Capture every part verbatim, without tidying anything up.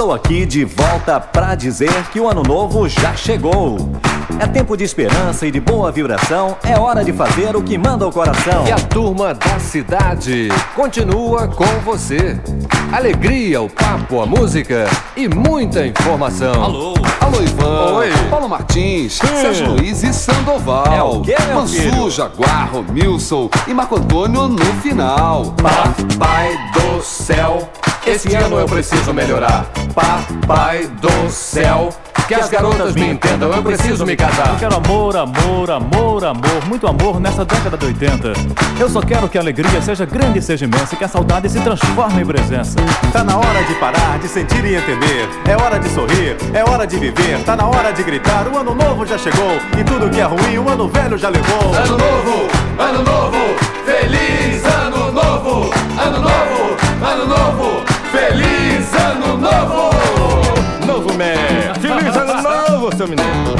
Estou aqui de volta pra dizer que o ano novo já chegou. É tempo de esperança e de boa vibração. É hora de fazer o que manda o coração. E a turma da cidade continua com você. Alegria, o papo, a música e muita informação. Alô? Alô, Ivan. Oi. Paulo Martins, Hum. Sérgio Luiz e Sandoval. É o quê, meu filho? Mansu, Jaguar, Romilson e Marco Antônio no final. Papai do céu, esse ano eu preciso melhorar. Papai do céu, que as garotas me entendam, eu preciso me casar. Eu quero amor, amor, amor, amor, muito amor nessa década de oitenta. Eu só quero que a alegria seja grande e seja imensa, e que a saudade se transforme em presença. Tá na hora de parar, de sentir e entender. É hora de sorrir, é hora de viver. Tá na hora de gritar, o ano novo já chegou. E tudo que é ruim, o ano velho já levou. Ano novo, ano novo, feliz ano novo. Ano novo, ano novo, feliz ano novo. Novo man! Feliz ano novo, seu menino!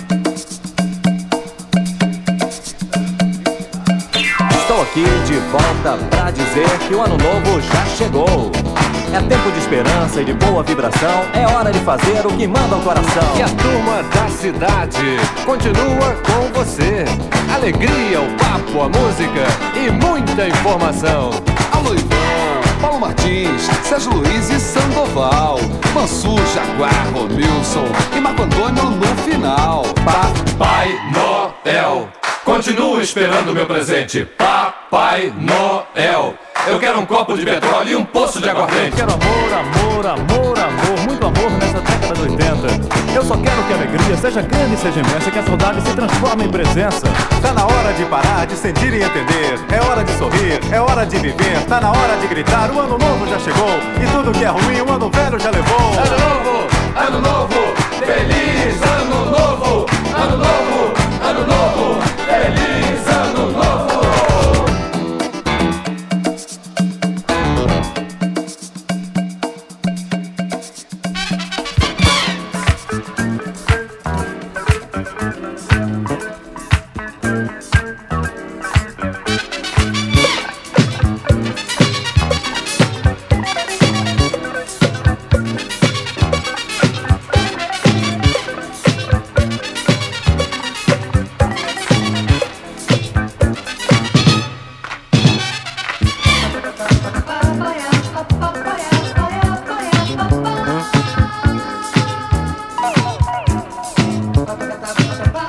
Estou aqui de volta pra dizer que o ano novo já chegou. É tempo de esperança e de boa vibração. É hora de fazer o que manda o coração. E a turma da cidade continua com você. Alegria, o papo, a música e muita informação. Alô, Ivan, Paulo Martins, Sérgio Luiz e Sandoval. Mansu, Jaguar, Romilson e Marco Antônio no final. Papai Noel, continuo esperando o meu presente. Papai Noel, eu quero um copo de petróleo e um poço de Eu aguardente. quero amor, amor, amor, amor, muito amor nessa década de oitenta. Eu só quero que a alegria seja grande e seja imensa, que a saudade se transforme em presença. Tá na hora de parar, de sentir e entender. É hora de sorrir, é hora de viver. Tá na hora de gritar, o ano novo já chegou. E tudo que é ruim, o ano velho já levou. Ano novo, ano novo, feliz ano novo. Ano novo, ano novo, feliz ano novo. Ba ba ba ba ba ba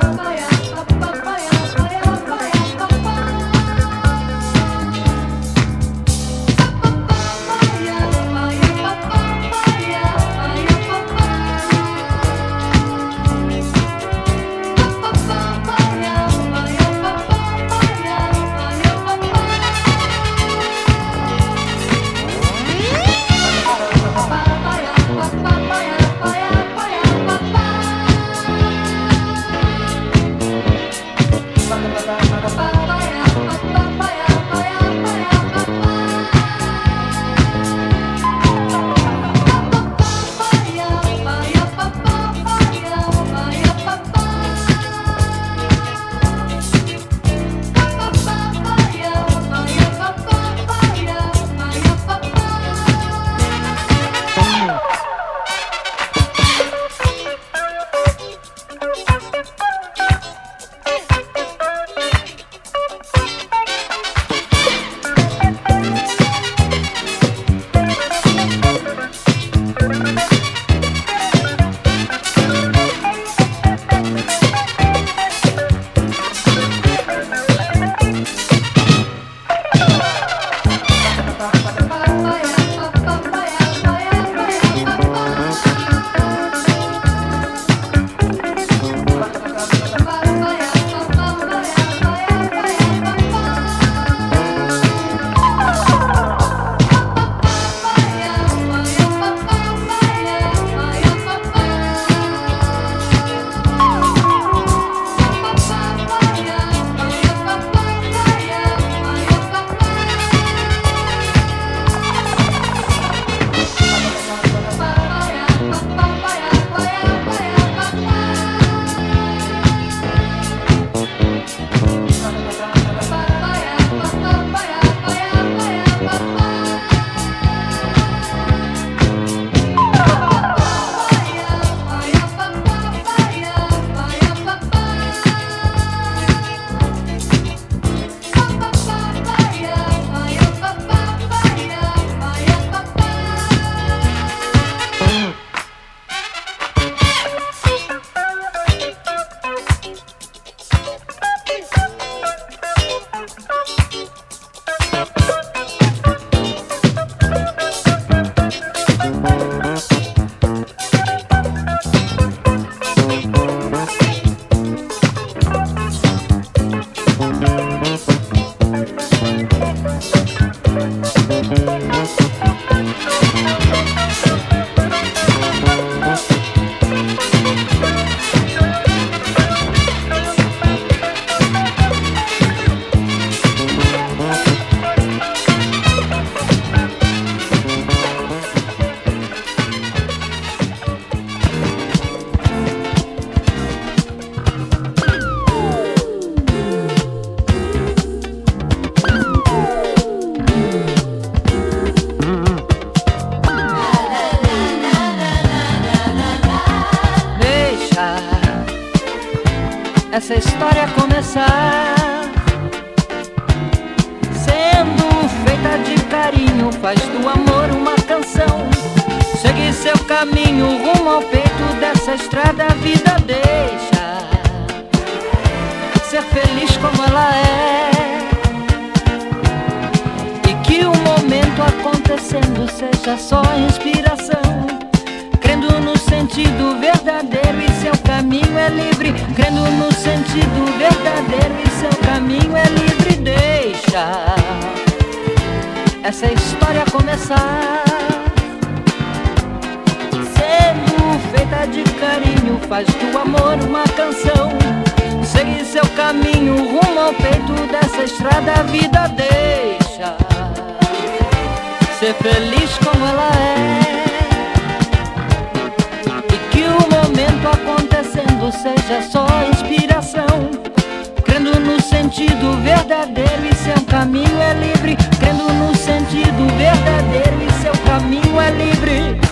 essa história começar. Sendo feita de carinho, faz do amor uma canção. Segue seu caminho rumo ao peito dessa estrada, a vida deixa ser feliz como ela é. E que o momento acontecendo seja só inspiração, crendo no sentido verdadeiro e seu caminho é livre. Crendo no sentido verdadeiro e seu caminho é livre. Deixa essa história começar. Sendo feita de carinho, faz do amor uma canção. Segue seu caminho rumo ao peito dessa estrada, a vida deixa ser feliz como ela é. E que o momento acontecendo seja só inspiração, crendo no sentido verdadeiro e seu caminho é livre. Crendo no sentido verdadeiro e seu caminho é livre.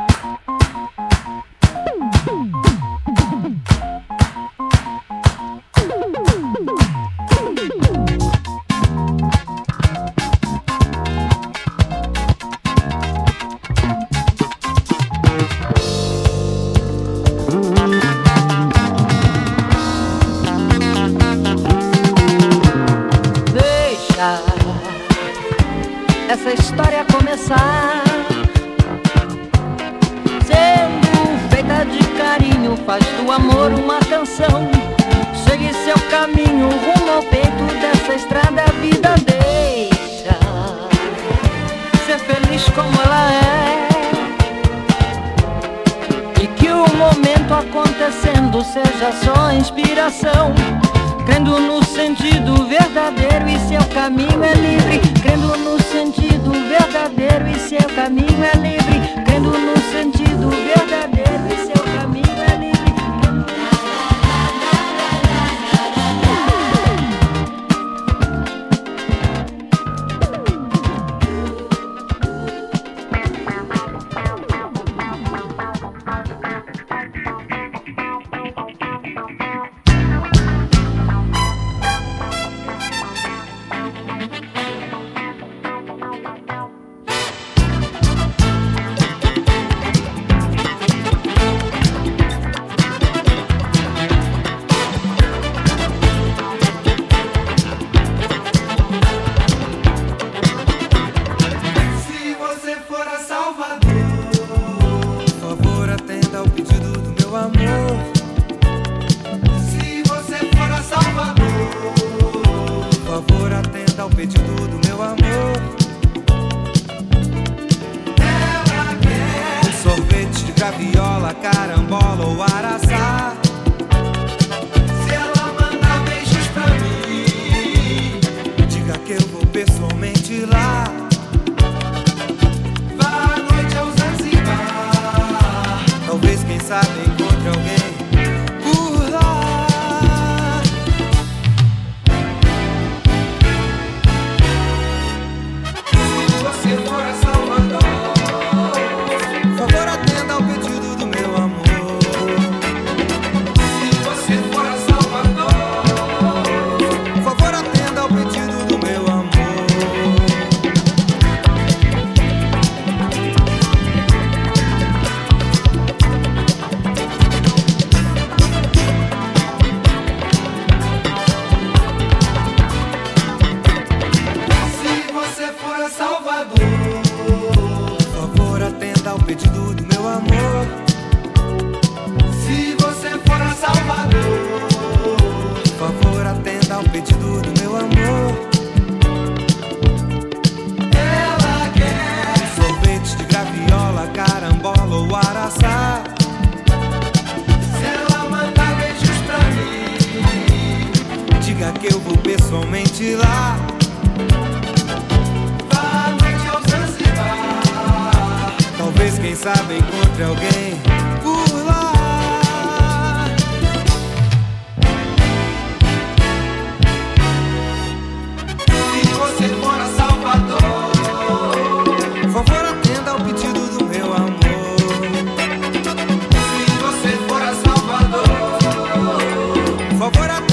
Essa história começar. Sendo feita de carinho, faz do amor uma canção. Segue seu caminho rumo ao peito dessa estrada, a vida deixa ser feliz como ela é. E que o momento acontecendo seja só inspiração, crendo no sentido verdadeiro e seu caminho é livre. Crendo no sentido verdadeiro e seu caminho é livre. Crendo no sentido verdadeiro e seu caminho é livre. Por favor,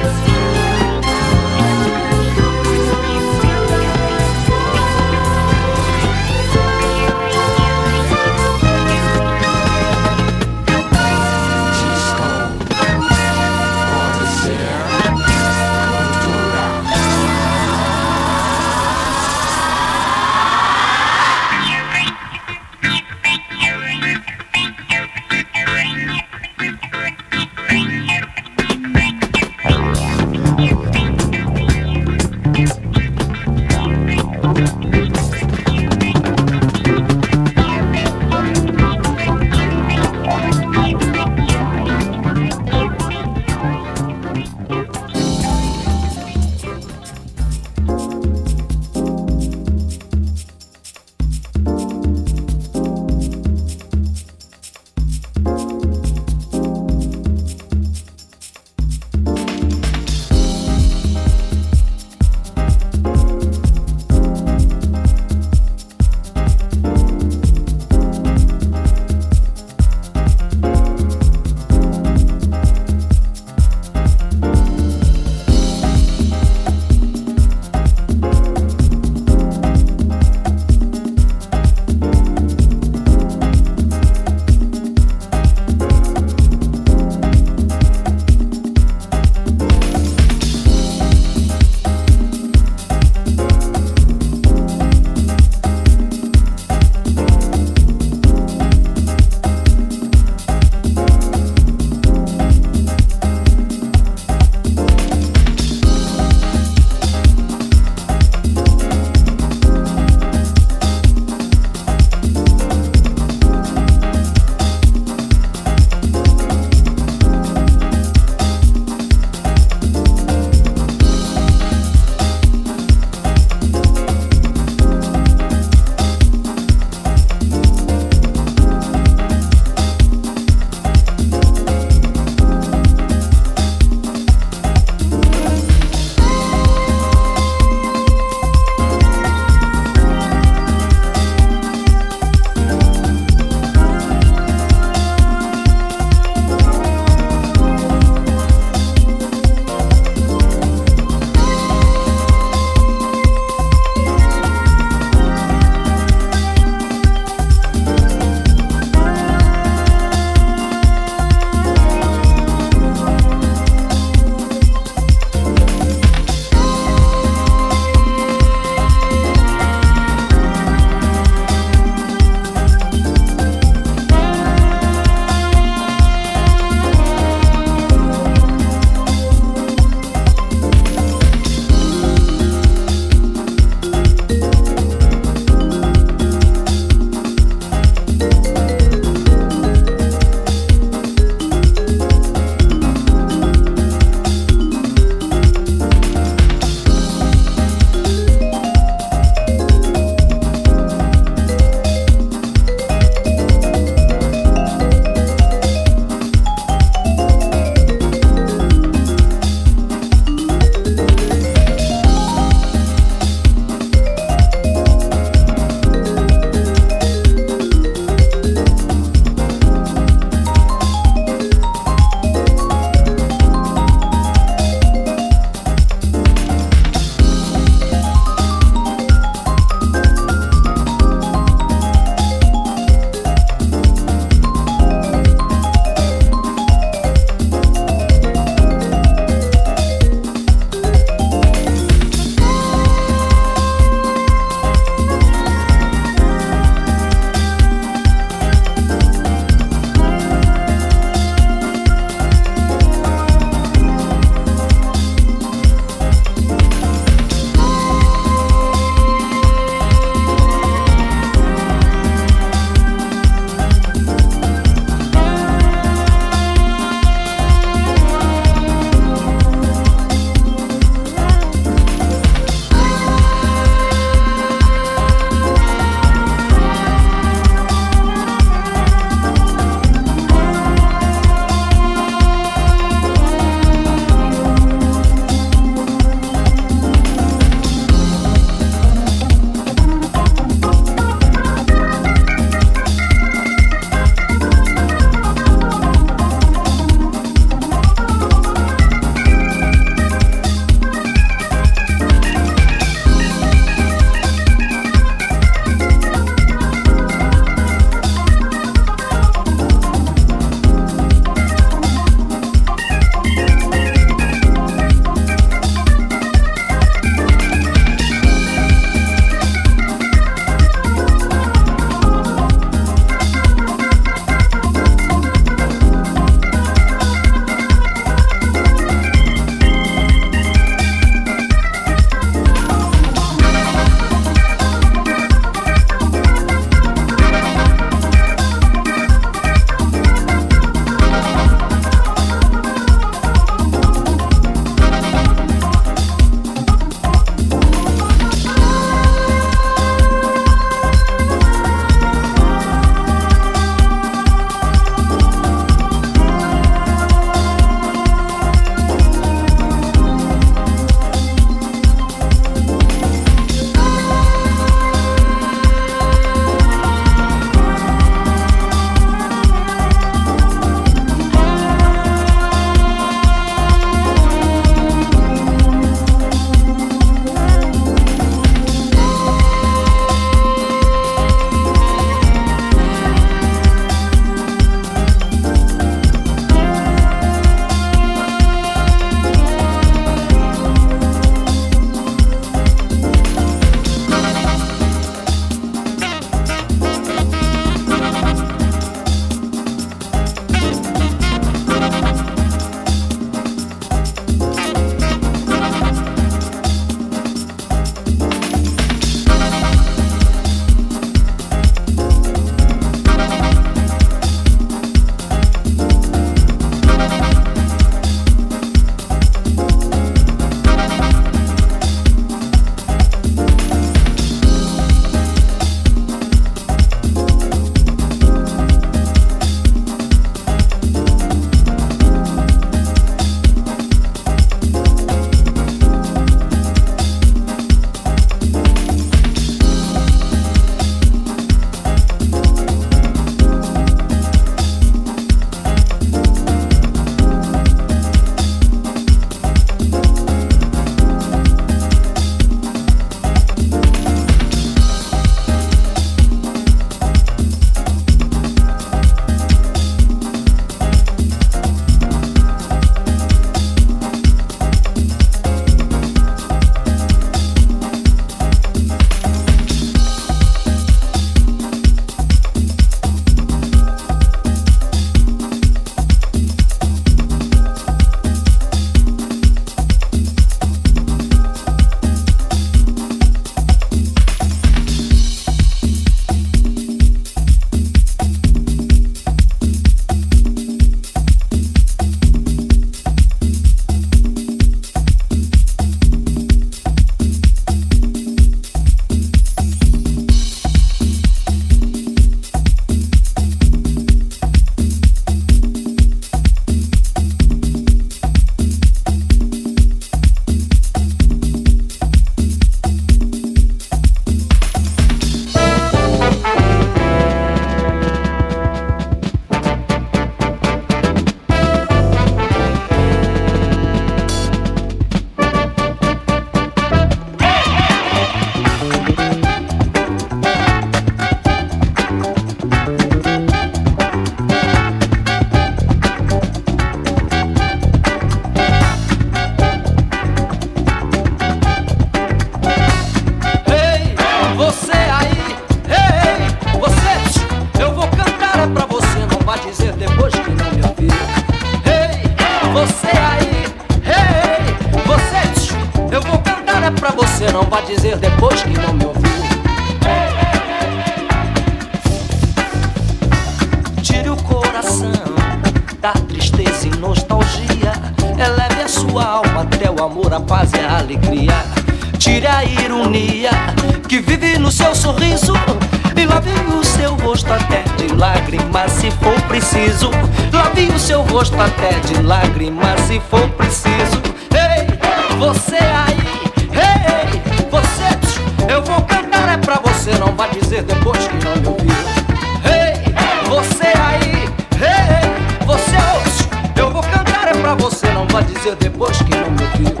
amor, a paz e a alegria. Tire a ironia que vive no seu sorriso e lave o seu rosto até de lágrimas se for preciso. Lave o seu rosto até de lágrimas se for preciso. Ei, você aí, ei, você, eu vou cantar é pra você, não vai dizer depois que não me ouviu. Ei, você aí, ei, você, eu vou cantar é pra você, não vai dizer depois que não me ouviu.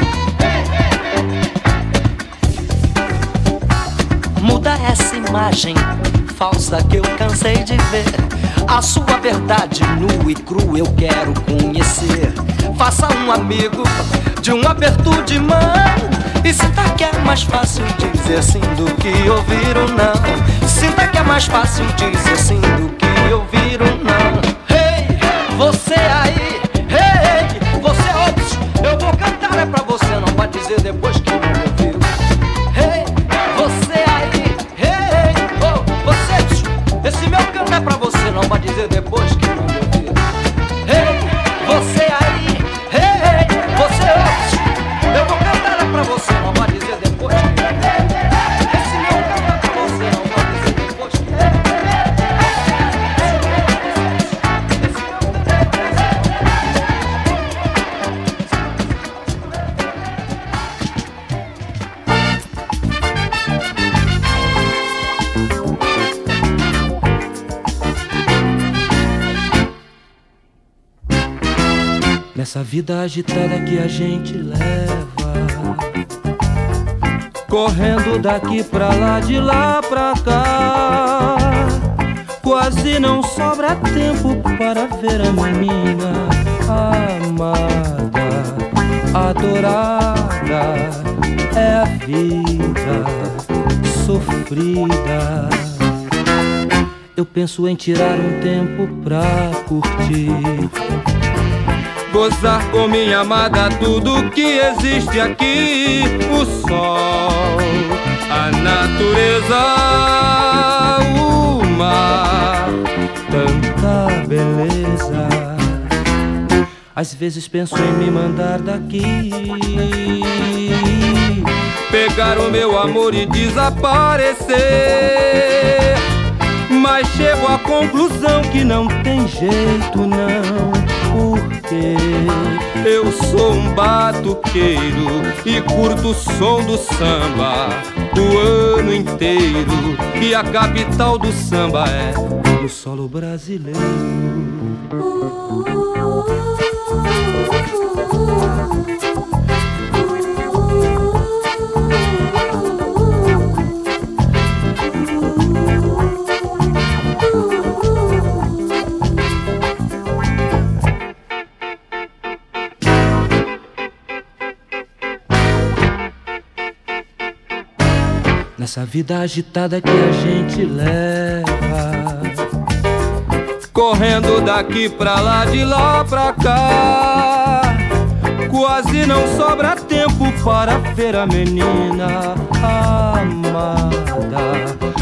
Muda essa imagem falsa que eu cansei de ver. A sua verdade nua e crua eu quero conhecer. Faça um amigo de um aperto de mão e sinta que é mais fácil dizer sim do que ouvir o não. Sinta que é mais fácil dizer sim do que ouvir o não. Hey, você aí, hey, você outros, eu vou cantar é pra você, não vai dizer depois que não me ouviu. Hey, você aí, hey, oh, você, esse meu canto é pra você, não vai dizer depois que não me ouviu. Hey, você aí, hey, você outros, eu vou cantar é pra você, não vai dizer depois que não me ouviu. Esse meu canto é pra você, não vai dizer depois que não me ouviu. Nessa vida agitada que a gente leva, correndo daqui pra lá, de lá pra cá, quase não sobra tempo para ver a menina amada, adorada. É a vida sofrida. Eu penso em tirar um tempo pra curtir, gozar com minha amada tudo que existe aqui. O sol, a natureza, o mar, tanta beleza. Às vezes penso em me mandar daqui, pegar o meu amor e desaparecer, mas chego à conclusão que não tem jeito não, porque eu sou um batuqueiro e curto o som do samba o ano inteiro. E a capital do samba é o solo brasileiro. Nessa vida agitada que a gente leva, correndo daqui pra lá, de lá pra cá, quase não sobra tempo para ver a menina amada,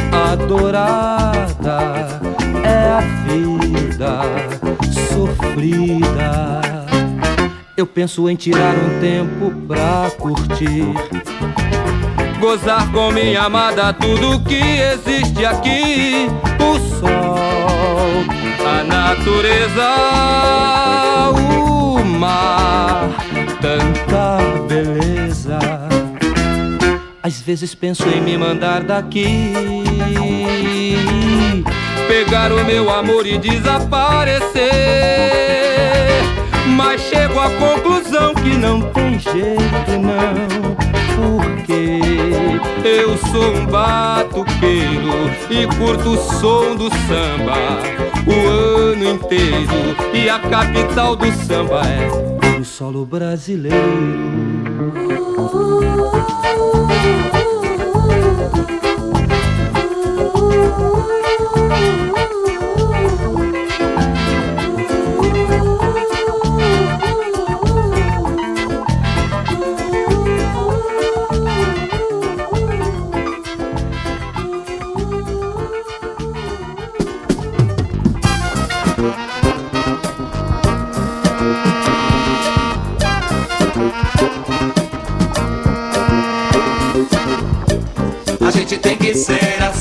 adorada. É a vida sofrida. Eu penso em tirar um tempo pra curtir, gozar com minha amada tudo que existe aqui. O sol, a natureza, o mar, tanta beleza. Às vezes penso em me mandar daqui, pegar o meu amor e desaparecer, mas chego à conclusão que não tem jeito não, porque eu sou um batuqueiro e curto o som do samba o ano inteiro. E a capital do samba é o solo brasileiro.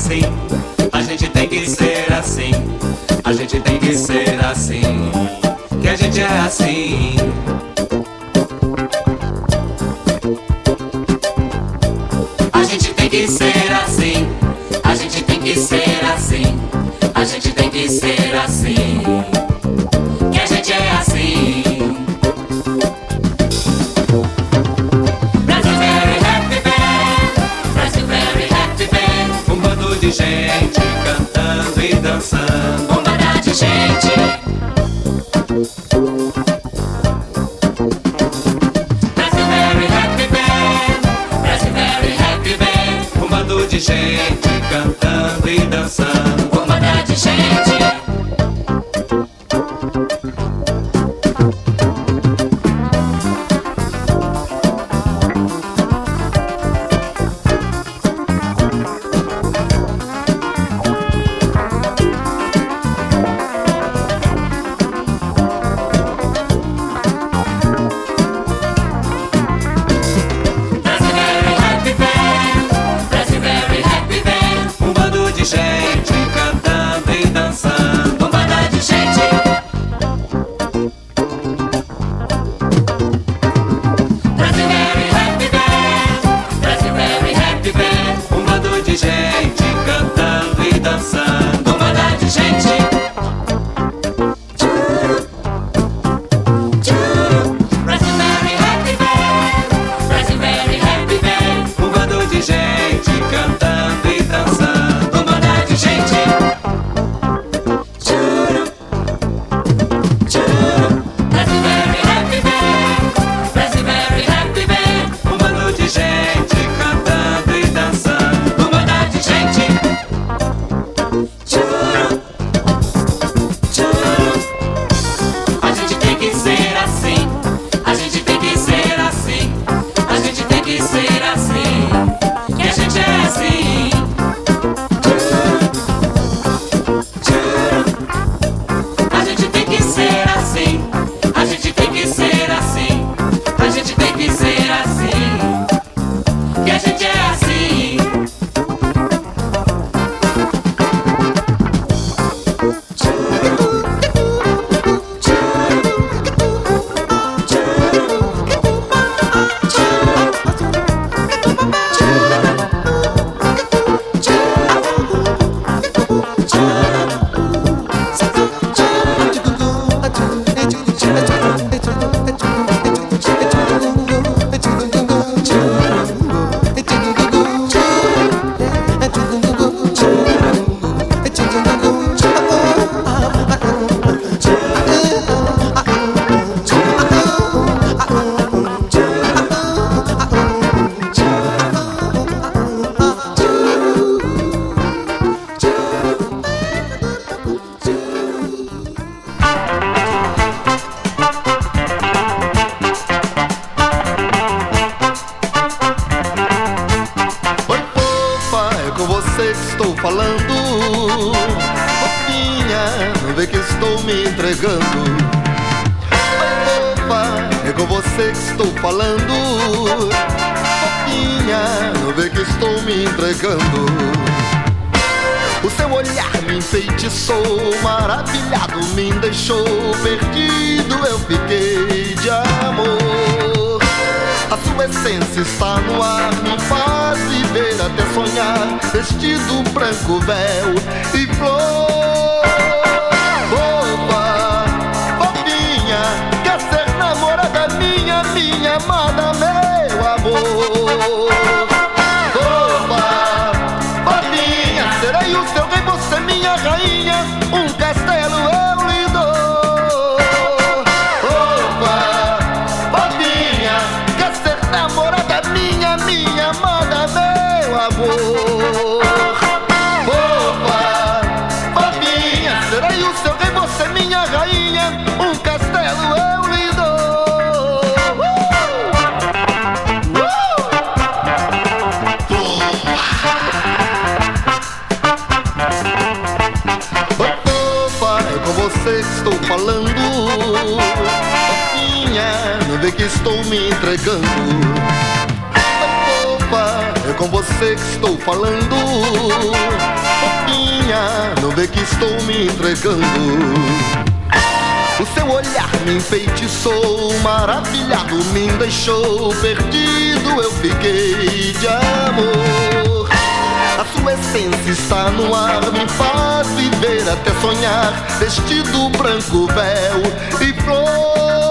assim, a gente tem que ser assim, a gente tem que ser assim, que a gente é assim. A gente tem que ser assim, a gente tem que ser assim, a gente tem que ser assim, que a gente é assim. Brasil very happy band, Brasil very happy band, um bando de gente cantando e dançando, um bando de gente. Brasil very happy band, Brasil very happy band, um bando de gente cantando e dançando, um bando de gente. Vestido branco, véu e flor. Opa, fofinha, quer ser namorada minha, minha amada, meu amor. Opa, fofinha, serei o seu rei, você minha rainha, um castelo eu lhe dou. Opa, fofinha, quer ser namorada minha, minha amada, meu amor. Estou falando, fofinha, vê que estou me entregando. Opa, é com você que estou falando. Fofinha, não vê que estou me entregando. O seu olhar me enfeitiçou, maravilhado me deixou perdido, eu fiquei de amor. A sua essência está no ar, me faz viver até sonhar, vestido branco, véu e flor.